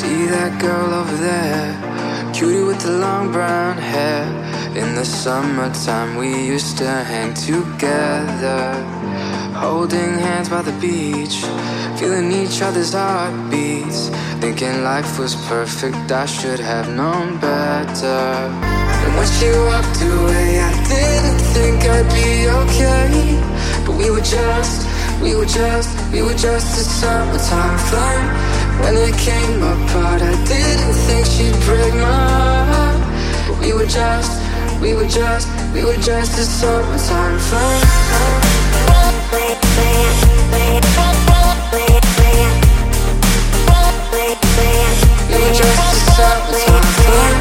See that girl over there, cutie with the long brown hair. In the summertime we used to hang together, holding hands by the beach, feeling each other's heartbeats, thinking life was perfect, I should have known better. And when she walked away, I didn't think I'd be okay. But we were just a summertime flame. When it came apart, I didn't think she'd break my heart. But we were just a summertime flame. We were just a summertime flame.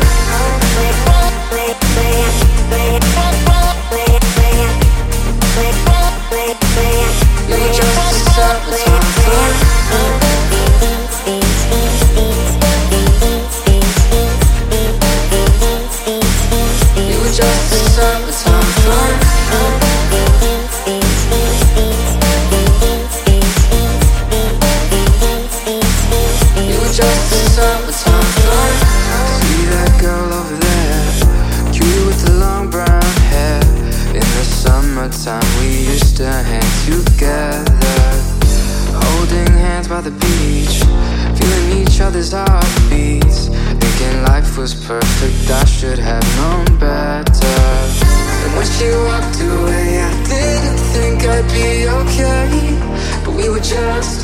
We were just a summertime flame. We were just a summertime flame. We were just a summertime flame. See that girl over there, cutie with the long brown hair. In the summertime we used to hang together, holding hands by the beach, feeling each other's heartbeats, thinking life was perfect, I should have known better. And when she walked away, I didn't think I'd be okay. But we were just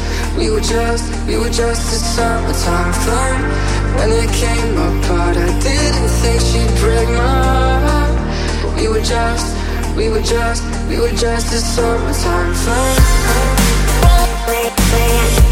a summertime flame. When it came apart, I didn't think she'd break my heart. But we were just a summertime flame.